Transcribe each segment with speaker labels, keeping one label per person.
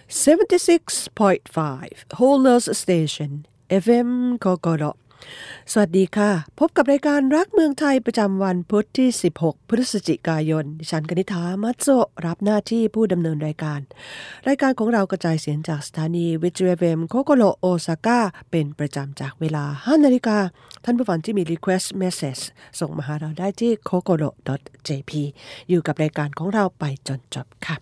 Speaker 1: 76.5 Holders Station FM โกโกโรสวัสดีค่ะพบกับรายการรักเมืองไทยประจำวันพุธที่16พฤศจิกายนดิฉันกนิษฐามัตโซรับหน้าที่ผู้ดำเนินรายการของเรากระจายเสียงจากสถานีวิทยุ FM โกโกโรโอซาก้าเป็นประจำจากเวลา 5 นาฬิกาท่านผู้ฟังที่มี request message ส่งมาหาเราได้ที่ kokoro.jp อยู่กับรายการของเราไปจนจบค่ะ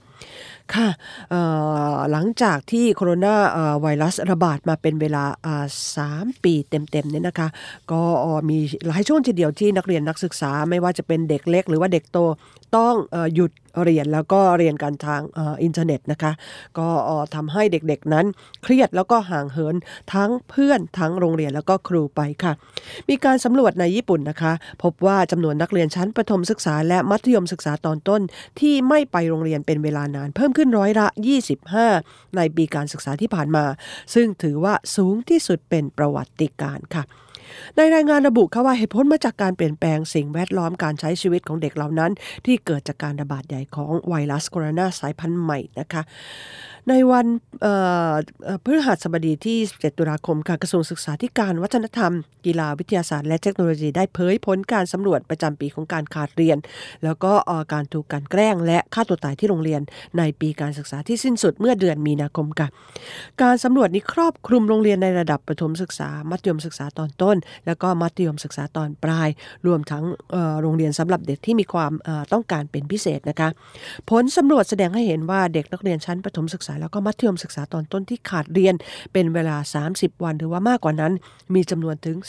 Speaker 1: หลังจากที่โคโรนาไวรัสระบาดมาเป็นเวลา3 ปีเต็มๆเนี่ยนะคะก็มีหลายช่วงทีเดียวที่นักเรียนนักศึกษาไม่ว่าจะเป็นเด็กเล็กหรือว่าเด็กโตต้องหยุดเรียนแล้วก็เรียนกันทางอินเทอร์เน็ตนะคะก็ทำให้เด็กๆนั้นเครียดแล้วก็ห่างเหินทั้งเพื่อนทั้งโรงเรียนแล้วก็ครูไปค่ะมีการสำรวจในญี่ปุ่นนะคะพบว่าจำนวนนักเรียนชั้นประถมศึกษาและมัธยมศึกษาตอนต้นที่ไม่ไปโรงเรียนเป็นเวลานานเพิ่มขึ้นร้อยละ25ในปีการศึกษาที่ผ่านมาซึ่งถือว่าสูงที่สุดเป็นประวัติการณ์ค่ะในรายงานระบุค่ะว่าเหตุผลมาจากการเปลี่ยนแปลงสิ่งแวดล้อมการใช้ชีวิตของเด็กเหล่านั้นที่เกิดจากการระบาดใหญ่ของไวรัสโคโรนาสายพันธุ์ใหม่นะคะในวันพฤหัสบดีที่17ตุลาคมค่ะกระทรวงศึกษาธิการวัฒนธรรมกีฬาวิทยาศาสตร์และเทคโนโลยีได้เผยผลการสำรวจประจำปีของการขาดเรียนแล้วก็การถูกกลั่นแกล้งและฆ่าตัวตายที่โรงเรียนในปีการศึกษาที่สิ้นสุดเมื่อเดือนมีนาคมค่ะการสำรวจนี้ครอบคลุมโรงเรียนในระดับประถมศึกษามัธยมศึกษาตอนต้นแล้วก็มัธยมศึกษาตอนปลายรวมทั้งโรงเรียนสำหรับเด็กที่มีความต้องการเป็นพิเศษนะคะผลสำรวจแสดงให้เห็นว่าเด็กนักเรียนชั้นประถมศึกษาแล้วก็มัธยมศึกษาตอนต้นที่ขาดเรียนเป็นเวลา30วันหรือว่ามากกว่านั้นมีจำนวนถึง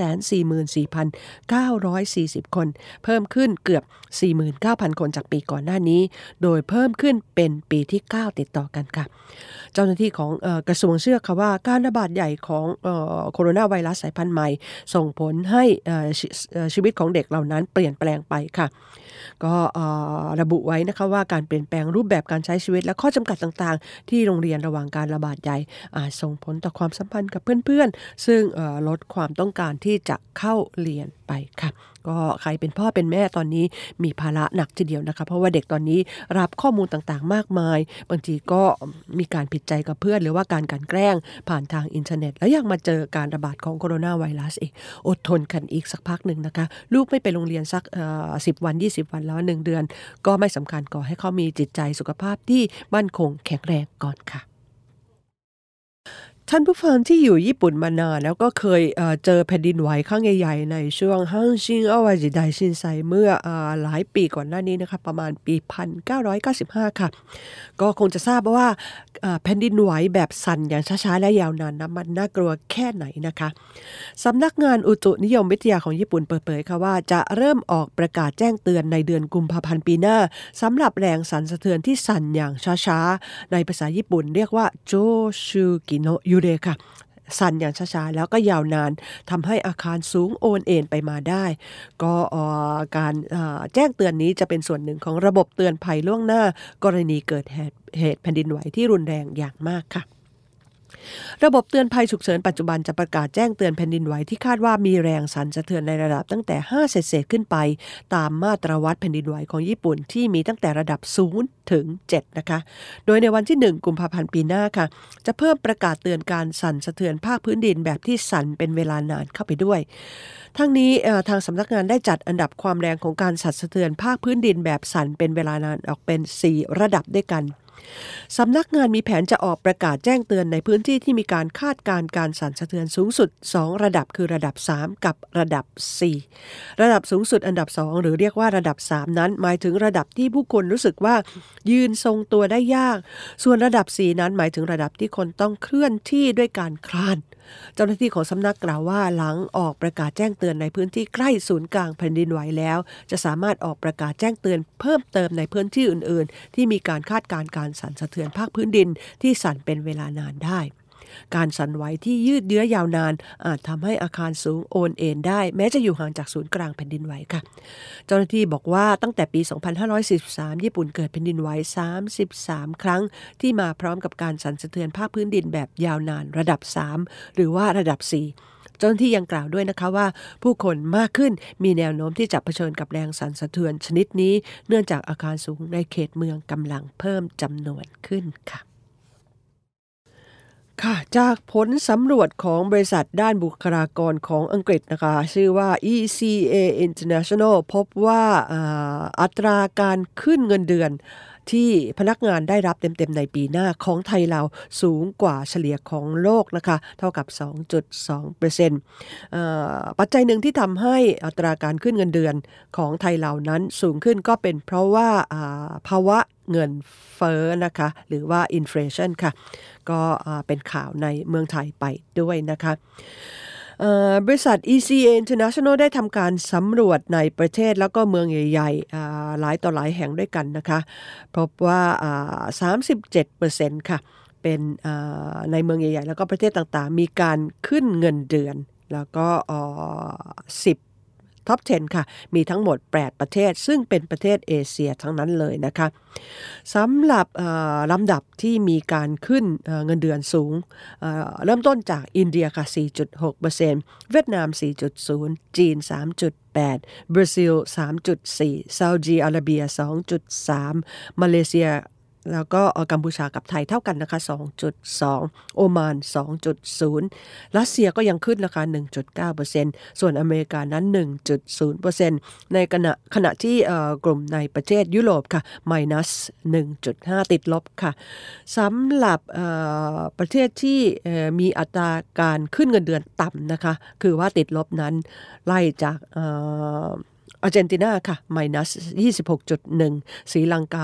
Speaker 1: 244,940 คนเพิ่มขึ้นเกือบ 49,000 คนจากปีก่อนหน้านี้โดยเพิ่มขึ้นเป็นปีที่9ติดต่อกันค่ะเจ้าหน้าที่ของกระทรวงเชื่อค่ะว่าการระบาดใหญ่ของโคโรนาไวรัสสายพันธุ์ใหม่ส่งผลให้ชีวิตของเด็กเหล่านั้นเปลี่ยนแปลงไปค่ะก็ระบุไว้นะคะว่าการเปลี่ยนแปลงรูปแบบการใช้ชีวิตและข้อจำกัดต่างๆที่โรงเรียนระหว่างการระบาดใหญ่อาจส่งผลต่อความสัมพันธ์กับเพื่อนๆซึ่งลดความต้องการที่จะเข้าเรียนไปค่ะก็ใครเป็นพ่อเป็นแม่ตอนนี้มีภาระหนักทีเดียวนะคะเพราะว่าเด็กตอนนี้รับข้อมูลต่างๆมากมายบางทีก็มีการผิดใจกับเพื่อนหรือว่าการกลั่นแกล้งผ่านทางอินเทอร์เน็ตแล้วยังมาเจอการระบาดของโคโรนาไวรัสอีกอดทนกันอีกสักพักหนึ่งนะคะลูกไม่ไปโรงเรียนสัก10 วัน20 วันแล้ว1 เดือนก็ไม่สำคัญก่อให้เขามีจิตใจสุขภาพที่มั่นคงแข็งแรงก่อนค่ะท่านผู้ฟังที่อยู่ญี่ปุ่นมานานแล้วก็เคยเจอแผ่นดินไหวครั้งใหญ่ๆในช่วงฮังชิงอาวาจิไดชินไซเมื่อหลายปีก่อนหน้านี้นะคะประมาณปี1995ค่ะก็คงจะทราบว่าแผ่นดินไหวแบบสั่นอย่างช้าๆและยาวนานมันน่ากลัวแค่ไหนนะคะสำนักงานอุตุนิยมวิทยาของญี่ปุ่นเปิดเผยค่ะว่าจะเริ่มออกประกาศแจ้งเตือนในเดือนกุมภาพันธ์ปีหน้าสำหรับแรงสั่นสะเทือนที่สั่นอย่างช้าๆในภาษาญี่ปุ่นเรียกว่าโจชูกิโนยูเรค่ะสั่นอย่างช้าๆแล้วก็ยาวนานทำให้อาคารสูงโอนเอ็นไปมาได้ก็การแจ้งเตือนนี้จะเป็นส่วนหนึ่งของระบบเตือนภัยล่วงหน้ากรณีเกิดเหตุแผ่นดินไหวที่รุนแรงอย่างมากค่ะระบบเตือนภัยฉุกเฉินปัจจุบันจะประกาศแจ้งเตือนแผ่นดินไหวที่คาดว่ามีแรงสั่นสะเทือนในระดับตั้งแต่5เศษขึ้นไปตามมาตรวัดแผ่นดินไหวของญี่ปุ่นที่มีตั้งแต่ระดับ0ถึง7นะคะโดยในวันที่1กุมภาพันธ์ปีหน้าค่ะจะเพิ่มประกาศเตือนการสั่นสะเทือนภาคพื้นดินแบบที่สั่นเป็นเวลานานเข้าไปด้วยทั้งนี้ทางสำนักงานได้จัดอันดับความแรงของการสั่นสะเทือนภาคพื้นดินแบบสั่นเป็นเวลานานออกเป็น4ระดับด้วยกันสำนักงานมีแผนจะออกประกาศแจ้งเตือนในพื้นที่ที่มีการคาดการณ์การสั่นสะเทือนสูงสุด2ระดับคือระดับ3กับระดับ4ระดับสูงสุดอันดับ2หรือเรียกว่าระดับ3นั้นหมายถึงระดับที่ผู้คนรู้สึกว่ายืนทรงตัวได้ยากส่วนระดับ4นั้นหมายถึงระดับที่คนต้องเคลื่อนที่ด้วยการคลานเจ้าหน้าที่ของสำนักกล่าวว่าหลังออกประกาศแจ้งเตือนในพื้นที่ใกล้ศูนย์กลางแผ่นดินไหวแล้วจะสามารถออกประกาศแจ้งเตือนเพิ่มเติมในพื้นที่อื่นๆที่มีการคาดการณ์การสั่นสะเทือนภาคพื้นดินที่สั่นเป็นเวลานานได้การสั่นไหวที่ยืดเยื้อยาวนานอาจทำให้อาคารสูงโอนเอ็นได้แม้จะอยู่ห่างจากศูนย์กลางแผ่นดินไหวค่ะเจ้าหน้าที่บอกว่าตั้งแต่ปี2543ญี่ปุ่นเกิดแผ่นดินไหว33ครั้งที่มาพร้อมกับการสั่นสะเทือนภาคพื้นดินแบบยาวนานระดับ3หรือว่าระดับ4เจ้าหน้าที่ยังกล่าวด้วยนะคะว่าผู้คนมากขึ้นมีแนวโน้มที่จะเผชิญกับแรงสั่นสะเทือนชนิดนี้เนื่องจากอาคารสูงในเขตเมืองกำลังเพิ่มจำนวนขึ้นค่ะค่ะจากผลสำรวจของบริษัทด้านบุคลากรของอังกฤษนะคะชื่อว่า ECA International พบว่าอัตราการขึ้นเงินเดือนที่พนักงานได้รับเต็มๆในปีหน้าของไทยเราสูงกว่าเฉลี่ยของโลกนะคะเท่ากับ 2.2% ปัจจัยหนึ่งที่ทำให้อัตราการขึ้นเงินเดือนของไทยเรานั้นสูงขึ้นก็เป็นเพราะว่าภาวะเงินเฟ้อนะคะหรือว่า inflation ค่ะก็เป็นข่าวในเมืองไทยไปด้วยนะคะบริษัท ECA International ได้ทำการสำรวจในประเทศแล้วก็เมืองใหญ่ๆหลายต่อหลายแห่งด้วยกันนะคะพบว่า37%ค่ะเป็นในเมืองใหญ่ๆแล้วก็ประเทศต่างๆมีการขึ้นเงินเดือนแล้วก็10ท็อป 10 ค่ะมีทั้งหมด8ประเทศซึ่งเป็นประเทศเอเชียทั้งนั้นเลยนะคะสำหรับลำดับที่มีการขึ้นเงินเดือนสูงเริ่มต้นจากอินเดียค่ะ 4.6% เวียดนาม 4.0 จีน 3.8 บราซิล 3.4 ซาอุดิอาระเบีย 2.3 มาเลเซียแล้วก็กัมพูชากับไทยเท่ากันนะคะ 2.2 โอมาน 2.0 รัสเซียก็ยังขึ้นราคา 1.9% ส่วนอเมริกานั้น 1.0% ในขณะที่กลุ่มในประเทศยุโรปค่ะ -1.5 ติดลบค่ะสำหรับประเทศที่มีอัตราการขึ้นเงินเดือนต่ำนะคะคือว่าติดลบนั้นไล่จากอาร์เจนตินาค่ะ -26.1 ศรีลังกา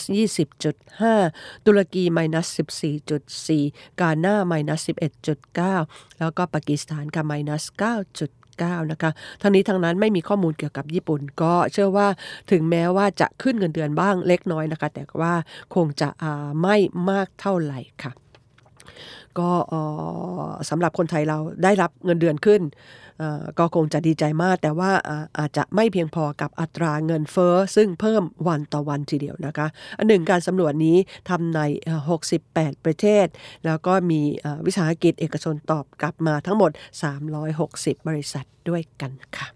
Speaker 1: -20.5 ตุรกี -14.4 กาหน้า -11.9 แล้วก็ปากีสถานค่ะ -9.9 นะคะทั้งนี้ทั้งนั้นไม่มีข้อมูลเกี่ยวกับญี่ปุ่นก็เชื่อว่าถึงแม้ว่าจะขึ้นเงินเดือนบ้างเล็กน้อยนะคะแต่ว่าคงจะไม่มากเท่าไหร่ค่ะก็สำหรับคนไทยเราได้รับเงินเดือนขึ้นก็คงจะดีใจมากแต่ว่าอาจจะไม่เพียงพอกับอัตราเงินเฟ้อซึ่งเพิ่มวันต่อวันทีเดียวนะคะอันหนึ่งการสำรวจนี้ทำใน68ประเทศแล้วก็มีวิสาหกิจเอกชนตอบกลับมาทั้งหมด360บริษัทด้วยกันค่ะ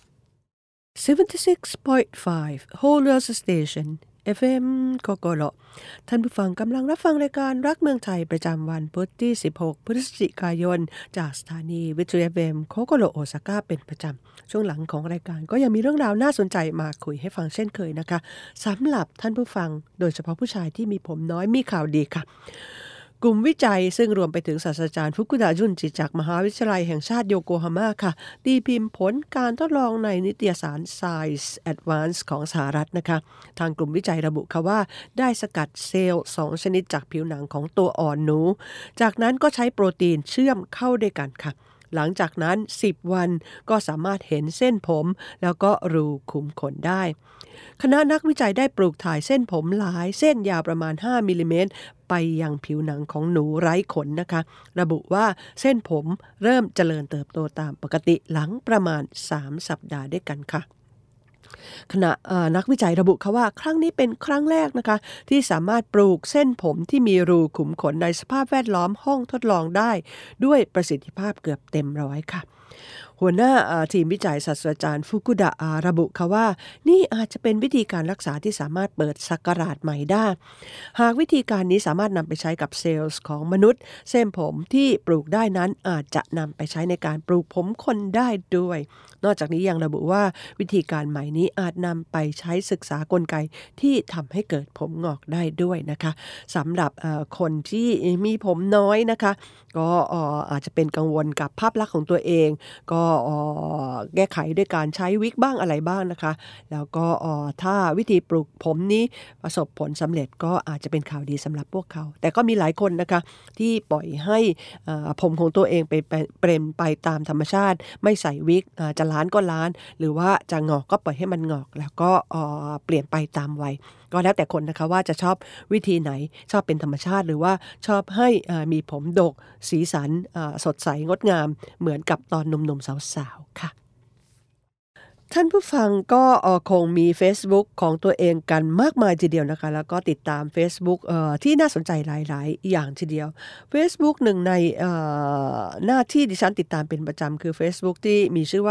Speaker 1: 76.5 Whole Earth Station FM โกโกโรท่านผู้ฟังกำลังรับฟังรายการรักเมืองไทยประจำวันพุธที่16พฤศจิกายนจากสถานีวิทยุ FM โคโกโรโอซาก้าเป็นประจำช่วงหลังของรายการก็ยังมีเรื่องราวน่าสนใจมาคุยให้ฟังเช่นเคยนะคะสำหรับท่านผู้ฟังโดยเฉพาะผู้ชายที่มีผมน้อยมีข่าวดีค่ะกลุ่มวิจัยซึ่งรวมไปถึงศาสตราจารย์ฟุกุดะจุนจิจากมหาวิทยาลัยแห่งชาติโยโกฮาม่าค่ะตีพิมพ์ผลการทดลองในนิตยสาร Science Advance ของสหรัฐนะคะทางกลุ่มวิจัยระบุค่ะว่าได้สกัดเซลล์2ชนิดจากผิวหนังของตัวอ่อนหนูจากนั้นก็ใช้โปรตีนเชื่อมเข้าด้วยกันค่ะหลังจากนั้น10วันก็สามารถเห็นเส้นผมแล้วก็รูขุมขนได้คณะนักวิจัยได้ปลูกถ่ายเส้นผมหลายเส้นยาวประมาณ5มิลลิเมตรไปยังผิวหนังของหนูไร้ขนนะคะระบุว่าเส้นผมเริ่มเจริญเติบโตตามปกติหลังประมาณ3สัปดาห์ด้วยกันค่ะขณะนักวิจัยระบุค่ะว่าครั้งนี้เป็นครั้งแรกนะคะที่สามารถปลูกเส้นผมที่มีรูขุมขนในสภาพแวดล้อมห้องทดลองได้ด้วยประสิทธิภาพเกือบเต็มร้อยค่ะหัวหน้าทีมวิจัยศาสตราจารย์ฟุกุดะระบุค่ะว่านี่อาจจะเป็นวิธีการรักษาที่สามารถเปิดศักราชใหม่ได้หากวิธีการนี้สามารถนำไปใช้กับเซลล์ของมนุษย์เส้นผมที่ปลูกได้นั้นอาจจะนำไปใช้ในการปลูกผมคนได้ด้วยนอกจากนี้ยังระบุว่าวิธีการใหม่นี้อาจนำไปใช้ศึกษากลไกที่ทำให้เกิดผมงอกได้ด้วยนะคะสำหรับคนที่มีผมน้อยนะคะก็อาจจะเป็นกังวลกับภาพลักษณ์ของตัวเองก็แก้ไขด้วยการใช้วิกบ้างอะไรบ้างนะคะแล้วก็ถ้าวิธีปลูกผมนี้ประสบผลสำเร็จก็อาจจะเป็นข่าวดีสำหรับพวกเขาแต่ก็มีหลายคนนะคะที่ปล่อยให้ผมของตัวเองเป็นไปตามธรรมชาติไม่ใส่วิกจะล้านก็ล้านหรือว่าจะงอกก็ปล่อยให้มันงอกแล้วก็เปลี่ยนไปตามวัยก็แล้วแต่คนนะคะว่าจะชอบวิธีไหนชอบเป็นธรรมชาติหรือว่าชอบให้มีผมดกสีสันสดใสงดงามเหมือนกับตอนหนุ่มๆสาวๆค่ะท่านผู้ฟังก็คงมี Facebook ของตัวเองกันมากมายทีเดียวนะคะแล้วก็ติดตาม Facebook ที่น่าสนใจหลายๆอย่างทีเดียว Facebook หนึ่งในหน้าที่ดิฉันติดตามเป็นประจำคือ Facebook ที่มีชื่อว่า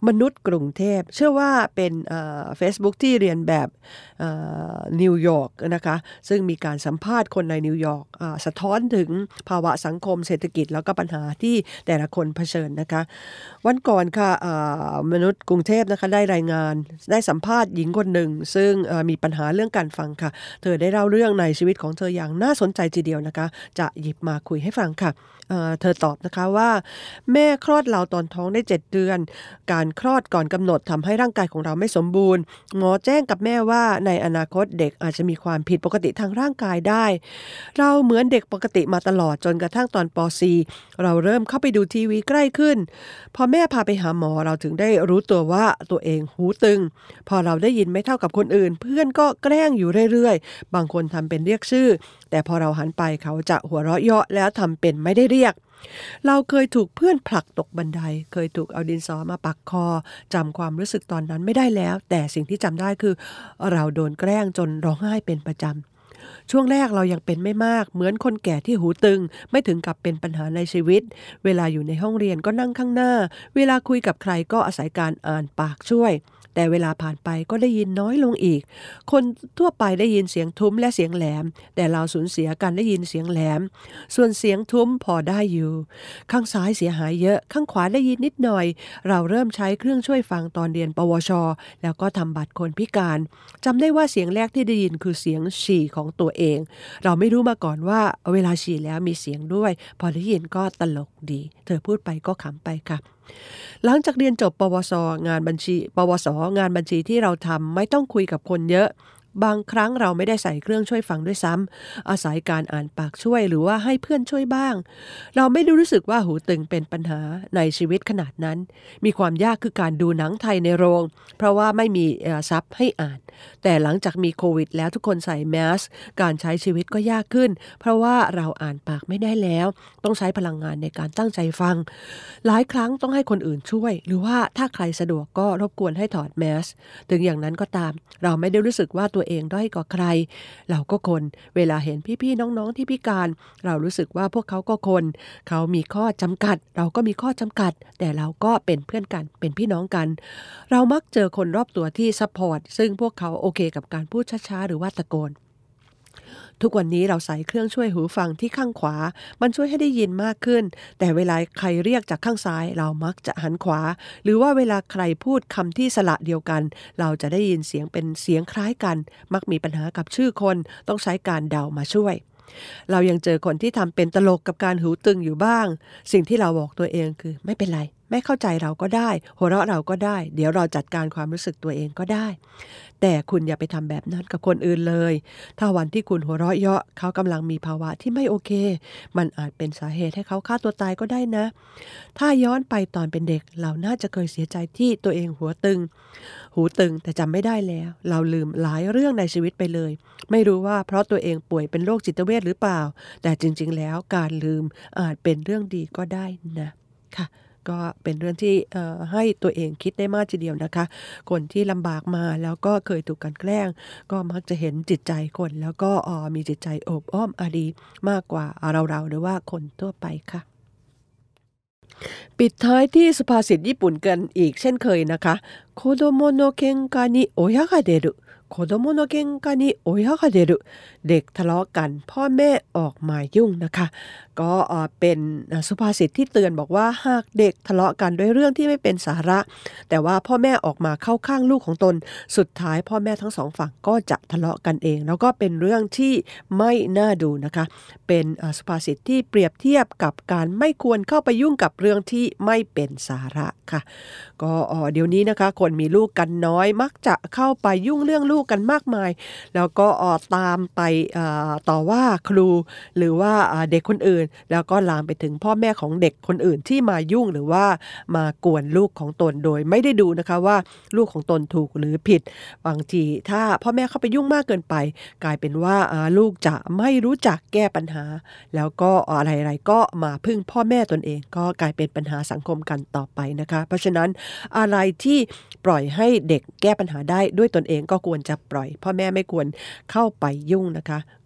Speaker 1: มนุษย์กรุงเทพเชื่อว่าเป็นFacebook ที่เรียนแบบนิวยอร์กนะคะซึ่งมีการสัมภาษณ์คนในนิวยอร์กสะท้อนถึงภาวะสังคมเศรษฐกิจแล้วก็ปัญหาที่แต่ละคนเผชิญนะคะวันก่อนค่ะมนุษย์กรุงเทพนะคะได้รายงานได้สัมภาษณ์หญิงคนหนึ่งซึ่งมีปัญหาเรื่องการฟังค่ะเธอได้เล่าเรื่องในชีวิตของเธออย่างน่าสนใจทีเดียวนะคะจะหยิบมาคุยให้ฟังค่ะเธอตอบนะคะว่าแม่คลอดเราตอนท้องได้7 เดือนการคลอดก่อนกำหนดทำให้ร่างกายของเราไม่สมบูรณ์หมอแจ้งกับแม่ว่าในอนาคตเด็กอาจจะมีความผิดปกติทางร่างกายได้เราเหมือนเด็กปกติมาตลอดจนกระทั่งตอนป .4 เราเริ่มเข้าไปดูทีวีใกล้ขึ้นพอแม่พาไปหาหมอเราถึงได้รู้ตัวว่าตัวเองหูตึงพอเราได้ยินไม่เท่ากับคนอื่นเพื่อนก็แกล้งอยู่เรื่อยๆบางคนทำเป็นเรียกชื่อแต่พอเราหันไปเขาจะหัวเราะเยาะแล้วทำเป็นไม่ได้เรียกเราเคยถูกเพื่อนผลักตกบันไดเคยถูกเอาดินสอมาปักคอจำความรู้สึกตอนนั้นไม่ได้แล้วแต่สิ่งที่จำได้คือเราโดนแกล้งจนร้องไห้เป็นประจำช่วงแรกเรายังเป็นไม่มากเหมือนคนแก่ที่หูตึงไม่ถึงกับเป็นปัญหาในชีวิตเวลาอยู่ในห้องเรียนก็นั่งข้างหน้าเวลาคุยกับใครก็อาศัยการอ่านปากช่วยแต่เวลาผ่านไปก็ได้ยินน้อยลงอีกคนทั่วไปได้ยินเสียงทุ้มและเสียงแหลมแต่เราสูญเสียการได้ยินเสียงแหลมส่วนเสียงทุ้มพอได้อยู่ข้างซ้ายเสียหายเยอะข้างขวาได้ยินนิดหน่อยเราเริ่มใช้เครื่องช่วยฟังตอนเรียนปวชแล้วก็ทำบัตรคนพิการจำได้ว่าเสียงแรกที่ได้ยินคือเสียงฉี่ของตัวเองเราไม่รู้มาก่อนว่าเวลาฉี่แล้วมีเสียงด้วยพอได้ยินก็ตลกดีเธอพูดไปก็ขำไปค่ะหลังจากเรียนจบปวสงานบัญชีที่เราทำไม่ต้องคุยกับคนเยอะบางครั้งเราไม่ได้ใส่เครื่องช่วยฟังด้วยซ้ำอาศัยการอ่านปากช่วยหรือว่าให้เพื่อนช่วยบ้างเราไม่ได้รู้สึกว่าหูตึงเป็นปัญหาในชีวิตขนาดนั้นมีความยากคือการดูหนังไทยในโรงเพราะว่าไม่มีซับให้อ่านแต่หลังจากมีโควิดแล้วทุกคนใส่แมสการใช้ชีวิตก็ยากขึ้นเพราะว่าเราอ่านปากไม่ได้แล้วต้องใช้พลังงานในการตั้งใจฟังหลายครั้งต้องให้คนอื่นช่วยหรือว่าถ้าใครสะดวกก็รบกวนให้ถอดแมสถึงอย่างนั้นก็ตามเราไม่ได้รู้สึกว่าตัวเองด้อยกว่าใครเราก็คนเวลาเห็นพี่ๆน้องๆที่พิการเรารู้สึกว่าพวกเขาก็คนเขามีข้อจำกัดเราก็มีข้อจำกัดแต่เราก็เป็นเพื่อนกันเป็นพี่น้องกันเรามักเจอคนรอบตัวที่ซัพพอร์ตซึ่งพวกเขาโอเคกับการพูดช้าๆหรือว่าตะโกนทุกวันนี้เราใส่เครื่องช่วยหูฟังที่ข้างขวามันช่วยให้ได้ยินมากขึ้นแต่เวลาใครเรียกจากข้างซ้ายเรามักจะหันขวาหรือว่าเวลาใครพูดคำที่สระเดียวกันเราจะได้ยินเสียงเป็นเสียงคล้ายกันมักมีปัญหากับชื่อคนต้องใช้การเดามาช่วยเรายังเจอคนที่ทำเป็นตลกกับการหูตึงอยู่บ้างสิ่งที่เราบอกตัวเองคือไม่เป็นไรไม่เข้าใจเราก็ได้หัวเราะเราก็ได้เดี๋ยวเราจัดการความรู้สึกตัวเองก็ได้แต่คุณอย่าไปทำแบบนั้นกับคนอื่นเลยถ้าวันที่คุณหัวเราะเยาะเขากำลังมีภาวะที่ไม่โอเคมันอาจเป็นสาเหตุให้เขาฆ่าตัวตายก็ได้นะถ้าย้อนไปตอนเป็นเด็กเราน่าจะเคยเสียใจที่ตัวเองหูตึงแต่จำไม่ได้แล้วเราลืมหลายเรื่องในชีวิตไปเลยไม่รู้ว่าเพราะตัวเองป่วยเป็นโรคจิตเวชหรือเปล่าแต่จริงๆแล้วการลืมอาจเป็นเรื่องดีก็ได้นะค่ะก็เป็นเรื่องที่ให้ตัวเองคิดได้มากทีเดียวนะคะคนที่ลำบากมาแล้วก็เคยถูกกันแกล้งก็มักจะเห็นจิตใจคนแล้วก็มีจิตใจโอบอ้อมอารีมากกว่าเราหรือว่าคนทั่วไปค่ะปิดท้ายที่สุภาษิตญี่ปุ่นกันอีกเช่นเคยนะคะโคโดโมโนเคนกานิโอยะกะเดรุโคโดโมโนเคนกานิโอยะกะเดรุเด็กทะเลาะกันพ่อแม่ออกมายุ่งนะคะก็เป็นสุภาษิตที่เตือนบอกว่าหากเด็กทะเลาะกันด้วยเรื่องที่ไม่เป็นสาระแต่ว่าพ่อแม่ออกมาเข้าข้างลูกของตนสุดท้ายพ่อแม่ทั้งสองฝั่งก็จะทะเลาะกันเองแล้วก็เป็นเรื่องที่ไม่น่าดูนะคะเป็นสุภาษิตที่เปรียบเทียบกับการไม่ควรเข้าไปยุ่งกับเรื่องที่ไม่เป็นสาระค่ะก็เดี๋ยวนี้นะคะคนมีลูกกันน้อยมักจะเข้าไปยุ่งเรื่องลูกกันมากมายแล้วก็ตามไปต่อว่าครูหรือว่าเด็กคนอื่นแล้วก็ลามไปถึงพ่อแม่ของเด็กคนอื่นที่มายุ่งหรือว่ามากวนลูกของตนโดยไม่ได้ดูนะคะว่าลูกของตนถูกหรือผิดบางทีถ้าพ่อแม่เข้าไปยุ่งมากเกินไปกลายเป็นว่าลูกจะไม่รู้จักแก้ปัญหาแล้วก็อะไรๆก็มาพึ่งพ่อแม่ตนเองก็กลายเป็นปัญหาสังคมกันต่อไปนะคะเพราะฉะนั้นอะไรที่ปล่อยให้เด็กแก้ปัญหาได้ด้วยตนเองก็ควรจะปล่อยพ่อแม่ไม่ควรเข้าไปยุ่งนะคะ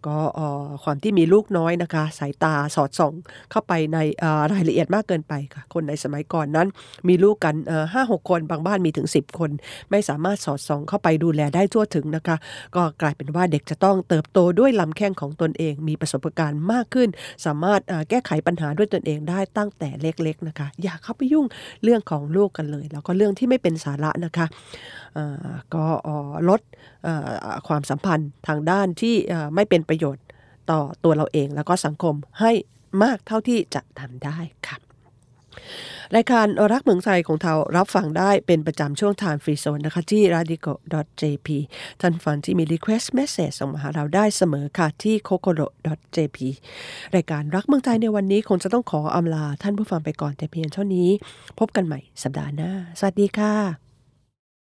Speaker 1: ก็ความที่มีลูกน้อยนะคะสายตาสอดส่องเข้าไปในรายละเอียดมากเกินไปค่ะคนในสมัยก่อนนั้นมีลูกกัน5-6 คนบางบ้านมีถึง10 คนไม่สามารถสอดส่องเข้าไปดูแลได้ทั่วถึงนะคะก็กลายเป็นว่าเด็กจะต้องเติบโตด้วยลำแข้งของตนเองมีประสบการณ์มากขึ้นสามารถแก้ไขปัญหาด้วยตนเองได้ตั้งแต่เล็กๆนะคะอย่าเข้าไปยุ่งเรื่องของลูกกันเลยแล้วก็เรื่องที่ไม่เป็นสาระนะคะก็ลดความสัมพันธ์ทางด้านที่ไม่เป็นประโยชน์ต่อตัวเราเองแล้วก็สังคมให้มากเท่าที่จะทำได้ค่ะรายการรักเมืองไทยของเรารับฟังได้เป็นประจำช่วง Time Free Zone นะคะที่ radico.jp ท่านฟังที่มี request message ส่งมาหาเราได้เสมอค่ะที่ kokoro.jp รายการรักเมืองไทยในวันนี้คงจะต้องขออำลาท่านผู้ฟังไปก่อนแต่เพียงเท่านี้พบกันใหม่สัปดาห์หน้าสวัสดีค่ะ